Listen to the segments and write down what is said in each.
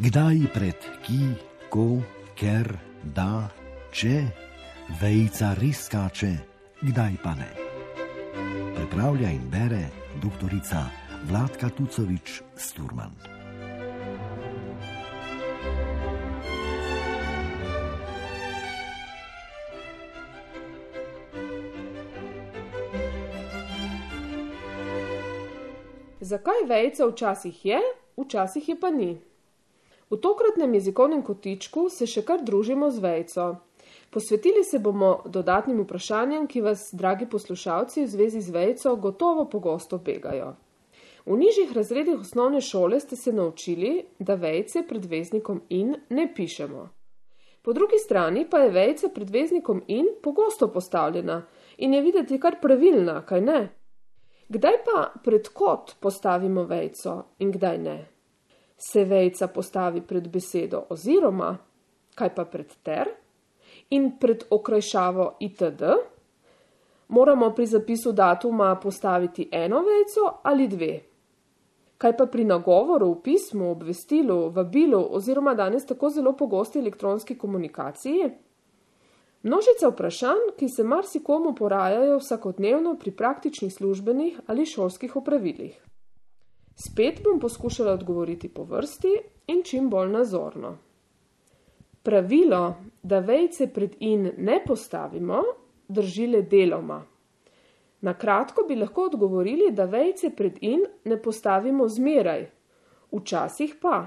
Kdaj pred ki, ko, ker, da, če, vejica res skače, kdaj pa ne. Pripravlja in bere doktorica Vladka Tucovič-Sturman. Zakaj vejica včasih je, včasih je pa ni? V tokratnem jezikovnem kotičku se še kar družimo z vejico. Posvetili se bomo dodatnim vprašanjem, ki vas, dragi poslušalci, v zvezi z vejico gotovo pogosto begajo. V nižjih razredih osnovne šole ste se naučili, da vejice pred veznikom in ne pišemo. Po drugi strani pa je vejica pred veznikom in pogosto postavljena in je videti kar pravilna, kaj ne? Kdaj pa pred kot postavimo vejico in kdaj ne? Se vejica postavi pred besedo oziroma, kaj pa pred ter? In pred okrajšavo itd? Moramo pri zapisu datuma postaviti eno vejico ali dve? Kaj pa pri nagovoru, v pismu, obvestilu, vabilu oziroma danes tako zelo pogosti elektronski komunikaciji? Množica vprašanj, ki se marsikomu porajajo vsakodnevno pri praktičnih službenih ali šolskih opravilih. Spet bom poskušala odgovoriti po vrsti in čim bolj nazorno. Pravilo, da vejice pred in ne postavimo, drži le deloma. Na kratko bi lahko odgovorili, da vejice pred in ne postavimo zmeraj, včasih pa.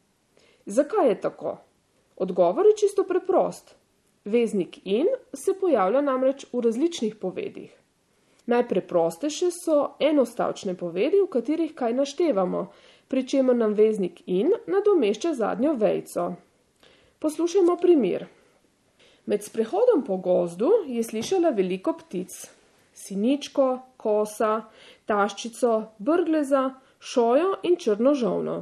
Zakaj je tako? Odgovor je čisto preprost. Veznik in se pojavlja namreč v različnih povedih. Najpreprostejše so enostavčne povedi, v katerih kaj naštevamo, pri čemer nam veznik in nadomešča zadnjo vejico. Poslušajmo primer. Med sprehodom po gozdu je slišala veliko ptic. Siničko, kosa, taščico, brgleza, šojo in črno žolno.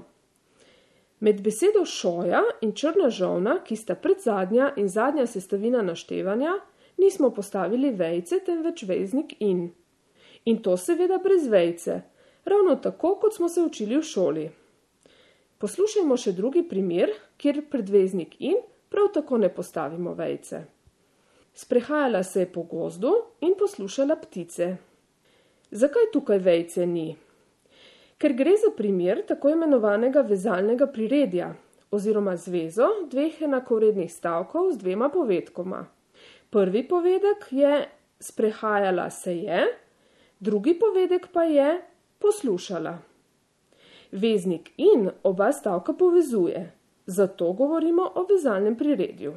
Med besedo šoja in črna žolna, ki sta predzadnja in zadnja sestavina naštevanja, nismo postavili vejice, temveč veznik in. In to seveda brez vejice, ravno tako, kot smo se učili v šoli. Poslušajmo še drugi primer, kjer pred veznik in prav tako ne postavimo vejice. Sprehajala se je po gozdu in poslušala ptice. Zakaj tukaj vejice ni? Ker gre za primer tako imenovanega vezalnega priredja oziroma zvezo dveh enakovrednih stavkov z dvema povedkoma. Prvi povedek je sprehajala se je, drugi povedek pa je poslušala. Veznik in oba stavka povezuje, zato govorimo o vezalnem priredju.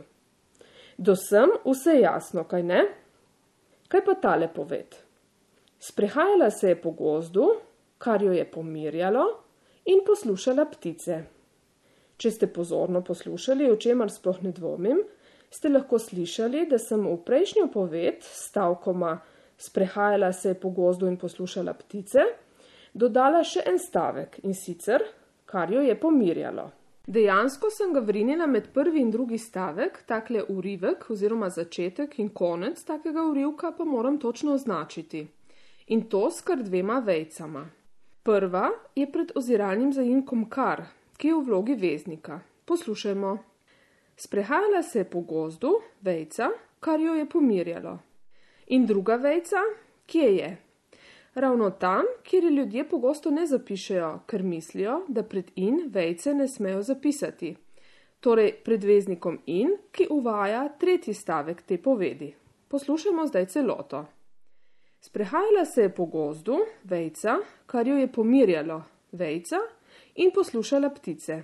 Do sem vse jasno, kaj ne? Kaj pa tale poved? Sprehajala se je po gozdu, kar jo je pomirjalo, in poslušala ptice. Če ste pozorno poslušali, o čemer sploh ne dvomim, ste lahko slišali, da sem v prejšnjo poved s stavkoma sprehajala se je po gozdu in poslušala ptice, dodala še en stavek in sicer, kar jo je pomirjalo. Dejansko sem ga vrinila med prvi in drugi stavek, takle urivek oziroma začetek in konec takega urivka pa moram točno označiti. In to s kar dvema vejicama. Prva je pred oziralnim zaimkom kar, ki je v vlogi veznika. Poslušajmo. Sprehajala se je po gozdu, vejica, kar jo je pomirjalo. In druga vejica, kje je? Ravno tam, kjer ljudje pogosto ne zapišejo, ker mislijo, da pred in vejice ne smejo zapisati. Torej pred veznikom in, ki uvaja tretji stavek te povedi. Poslušajmo zdaj celoto. Sprehajala se je po gozdu, vejica, kar jo je pomirjalo, vejica, in poslušala ptice.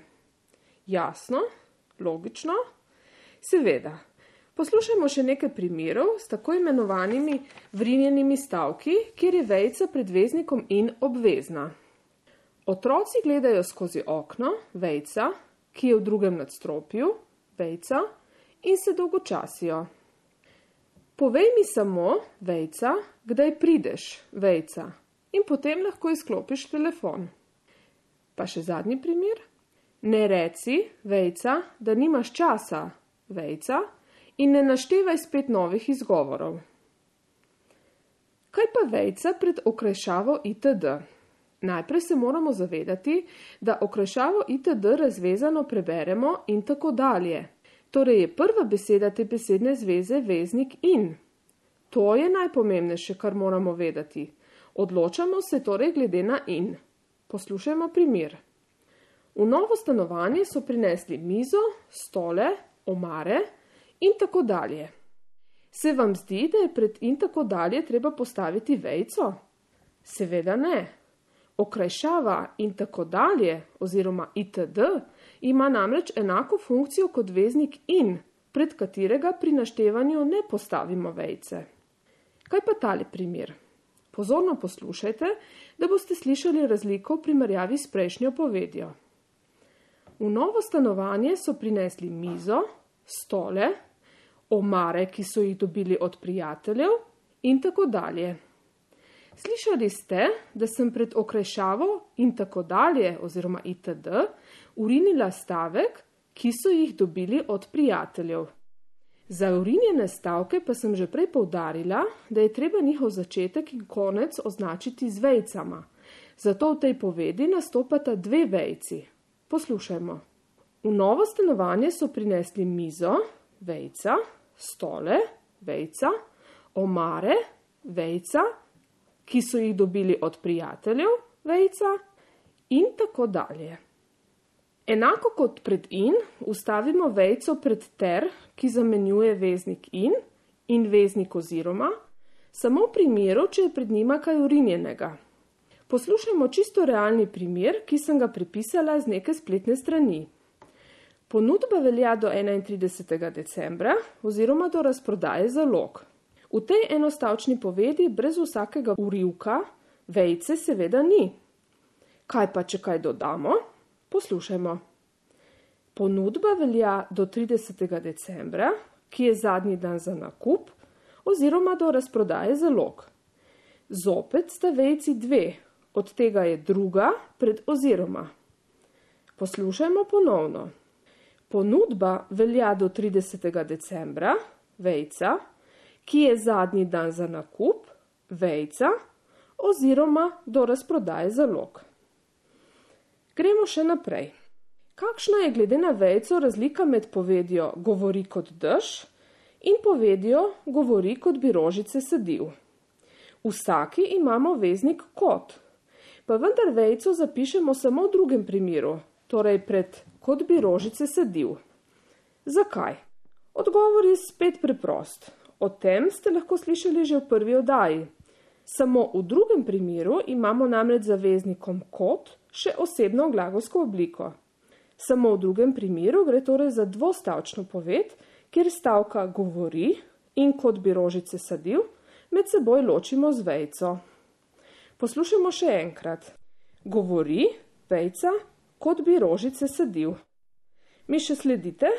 Jasno? Logično? Seveda. Poslušajmo še nekaj primerov s tako imenovanimi vrinjenimi stavki, kjer je vejica pred veznikom in obvezna. Otroci gledajo skozi okno, vejica, ki je v drugem nadstropju, vejica, in se dolgočasijo. Povej mi samo, vejica, kdaj prideš, vejica, in potem lahko izklopiš telefon. Pa še zadnji primer. Ne reci, vejica, da nimaš časa, vejica, in ne naštevaj spet novih izgovorov. Kaj pa vejica pred okrajšavo itd? Najprej se moramo zavedati, da okrajšavo itd. Razvezano preberemo in tako dalje. Torej je prva beseda te besedne zveze veznik in. To je najpomembnejše, kar moramo vedeti. Odločamo se torej glede na in. Poslušajmo primer. V novo stanovanje so prinesli mizo, stole, omare in tako dalje. Se vam zdi, da je pred in tako dalje treba postaviti vejico? Seveda ne. Okrajšava in tako dalje oziroma itd. Ima namreč enako funkcijo kot veznik in, pred katerega pri naštevanju ne postavimo vejice. Kaj pa tale primer? Pozorno poslušajte, da boste slišali razliko v primerjavi s prejšnjo povedjo. V novo stanovanje so prinesli mizo, stole, omare, ki so jih dobili od prijateljev in tako dalje. Slišali ste, da sem pred okrajšavo in tako dalje oziroma itd. Urinila stavek, ki so jih dobili od prijateljev. Za urinjene stavke pa sem že prej poudarila, da je treba njihov začetek in konec označiti z vejicama. Zato v tej povedi nastopata dve vejici. Poslušajmo. V novo stanovanje so prinesli mizo, vejica, stole, vejica, omare, vejica, ki so jih dobili od prijateljev, vejica in tako dalje. Enako kot pred in, ustavimo vejico pred ter, ki zamenjuje veznik in veznik oziroma, samo v primeru, če je pred njima kaj urinjenega. Poslušajmo čisto realni primer, ki sem ga prepisala z neke spletne strani. Ponudba velja do 31. decembra oziroma do razprodaje zalog. V tej enostavčni povedi brez vsakega urivka vejice seveda ni. Kaj pa, če kaj dodamo? Poslušajmo. Ponudba velja do 30. decembra, ki je zadnji dan za nakup, oziroma do razprodaje zalog. Zopet sta vejici dve, od tega je druga pred oziroma. Poslušajmo ponovno. Ponudba velja do 30. decembra, vejica, ki je zadnji dan za nakup, vejica, oziroma do razprodaje zalog. Gremo še naprej. Kakšna je glede na vejico razlika med povedjo govori kot dež in povedjo govori kot bi rožice sadil? V vsaki imamo veznik kot, pa vendar vejico zapišemo samo v drugem primeru, torej pred kot bi rožice sadil. Zakaj? Odgovor je spet preprost. O tem ste lahko slišali že v prvi oddaji. Samo v drugem primeru imamo namreč za veznikom kot še osebno glagolsko obliko. Samo v drugem primeru gre torej za dvostavčno poved, kjer stavka govori in kot bi rožice sadil med seboj ločimo z vejico. Poslušajmo še enkrat. Govori, vejica, kot bi rožice sadil. Mi še sledite?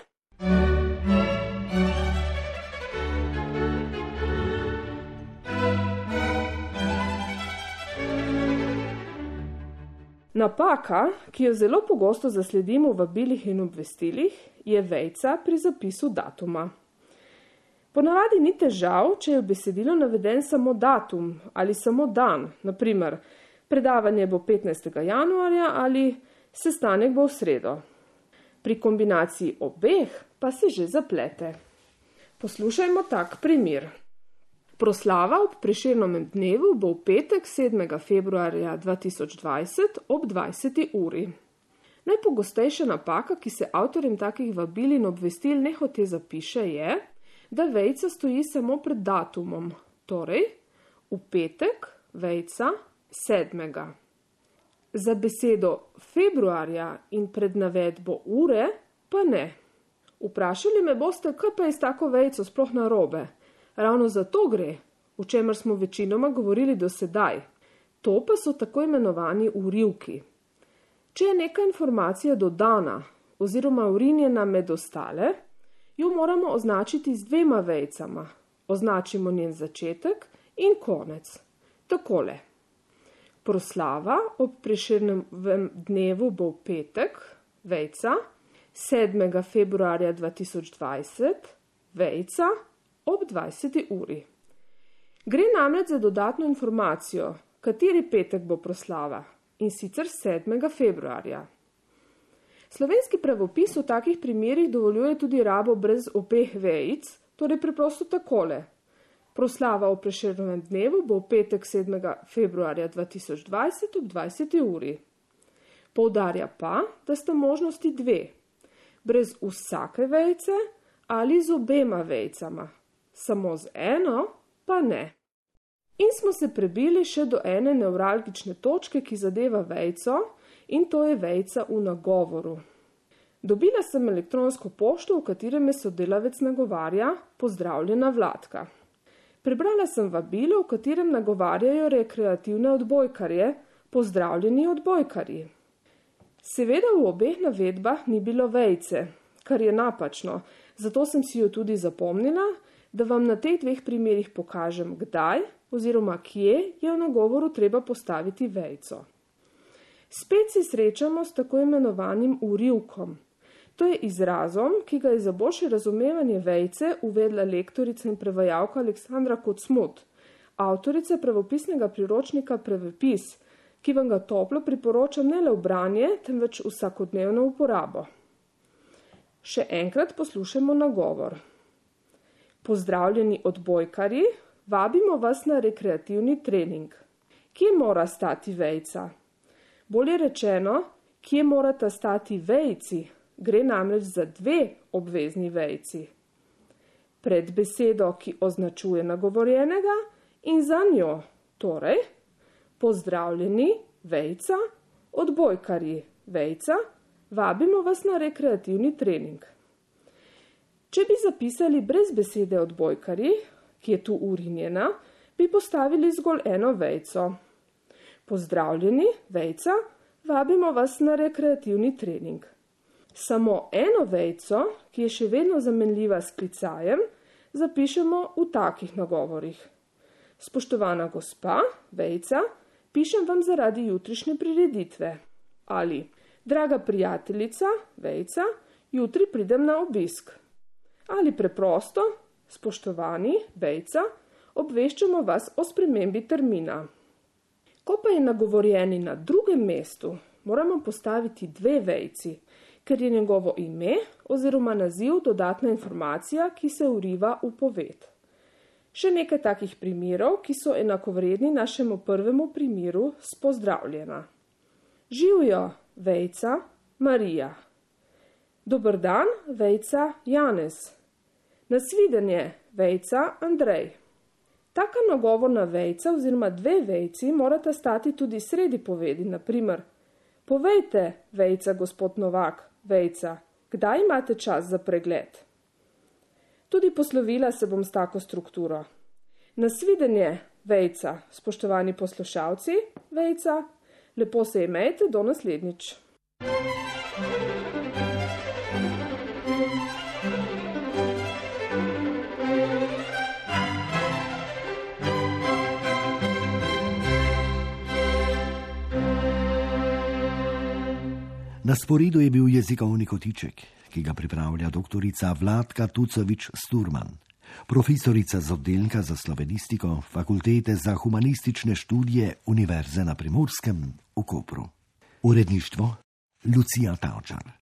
Napaka, ki jo zelo pogosto zasledimo v vabilih in obvestilih, je vejica pri zapisu datuma. Ponavadi ni težav, če je v besedilu naveden samo datum ali samo dan, naprimer predavanje bo 15. januarja ali sestanek bo v sredo. Pri kombinaciji obeh pa se že zaplete. Poslušajmo tak primer. Proslava ob Prešernovem dnevu bo v petek 7. februarja 2020 ob 20. uri. Najpogostejša napaka, ki se avtorjem takih vabil in obvestil nehote zapiše, je, da vejica stoji samo pred datumom, torej v petek vejica 7. Za besedo februarja in pred navedbo ure pa ne. Vprašali me boste, kaj pa je s tako vejico sploh narobe. Ravno zato gre, o čemer smo večinoma govorili do sedaj. To pa so tako imenovani urivki. Če je neka informacija dodana oziroma urinjena med ostale, jo moramo označiti z dvema vejicama. Označimo njen začetek in konec. Takole. Proslava ob Prešernovem dnevu bo v petek, vejica, 7. februarja 2020, vejica, ob 20. uri. Gre namreč za dodatno informacijo, kateri petek bo proslava in sicer 7. februarja. Slovenski pravopis v takih primerih dovoljuje tudi rabo brez obeh vejic, torej preprosto takole. Proslava o Prešernovem dnevu bo v petek 7. februarja 2020 ob 20. uri. Poudarja pa, da sta možnosti dve, brez vsake vejice ali z obema vejicama, samo z eno pa ne. In smo se prebili še do ene nevralgične točke, ki zadeva vejico, in to je vejica v nagovoru. Dobila sem elektronsko pošto, v katerem me sodelavec nagovarja: pozdravljena Vladka. Prebrala sem vabilo, v katerem nagovarjajo rekreativne odbojkarje: pozdravljeni odbojkarji. Seveda v obeh navedbah ni bilo vejice, kar je napačno, zato sem si jo tudi zapomnila, da vam na teh dveh primerih pokažem, kdaj oziroma kje je v nagovoru treba postaviti vejico. Spet se srečamo s tako imenovanim urivkom. To je izrazom, ki ga je za boljše razumevanje vejice uvedla lektorica in prevajalka Aleksandra Kocmut, avtorica pravopisnega priročnika Pravopis, ki vam ga toplo priporočam ne le v branje, temveč vsakodnevno uporabo. Še enkrat poslušajmo nagovor. Pozdravljeni odbojkarji, vabimo vas na rekreativni trening. Kje mora stati vejica? Bolje rečeno, kje morata stati vejici? Gre namreč za dve obvezni vejici. Pred besedo, ki označuje nagovorjenega, in za njo, torej, pozdravljeni, vejica, odbojkarji, vejica, vabimo vas na rekreativni trening. Če bi zapisali brez besede odbojkarji, ki je tu urinjena, bi postavili zgolj eno vejico. Pozdravljeni, vejica, vabimo vas na rekreativni trening. Samo eno vejico, ki je še vedno zamenljiva s klicajem, zapišemo v takih nagovorih. Spoštovana gospa, vejica, pišem vam zaradi jutrišnje prireditve. Ali, draga prijateljica, vejica, jutri pridem na obisk. Ali preprosto, spoštovani, vejica, obveščamo vas o spremembi termina. Ko pa je nagovorjeni na drugem mestu, moramo postaviti dve vejici, ker je njegovo ime oziroma naziv dodatna informacija, ki se vriva v poved. Še nekaj takih primerov, ki so enakovredni našemu prvemu primeru s pozdravljena. Živjo, vejica, Marija. Dober dan, vejica, Janez. Nasvidenje, vejica, Andrej. Taka nagovorna vejica oziroma dve vejici morata stati tudi sredi povedi, naprimer: povejte, vejica, gospod Novak, vejica, kdaj imate čas za pregled? Tudi poslovila se bom s tako strukturo. Nasvidenje, vejica, spoštovani poslušalci, vejica, lepo se imejte, do naslednjič. Na sporedu je bil jezikovni kotiček, ki ga pripravlja doktorica Vladka Tucovič-Sturman, profesorica z oddelka za slovenistiko Fakultete za humanistične študije Univerze na Primorskem v Kopru. Uredništvo Lucija Tavčar.